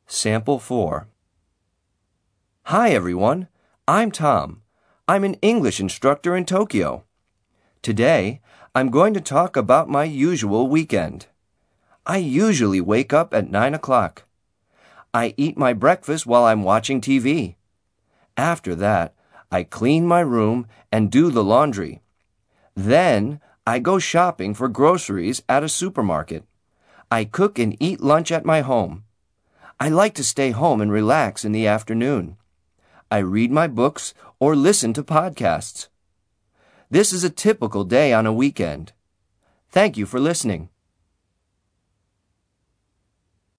Sample 4. Hi everyone, I'm Tom. I'm an English instructor in Tokyo. Today, I'm going to talk about my usual weekend. I usually wake up at 9 o'clock. I eat my breakfast while I'm watching TV. After that, I clean my room and do the laundry. Then, I go shopping for groceries at a supermarket. I cook and eat lunch at my home. I like to stay home and relax in the afternoon. I read my books or listen to podcasts. This is a typical day on a weekend. Thank you for listening.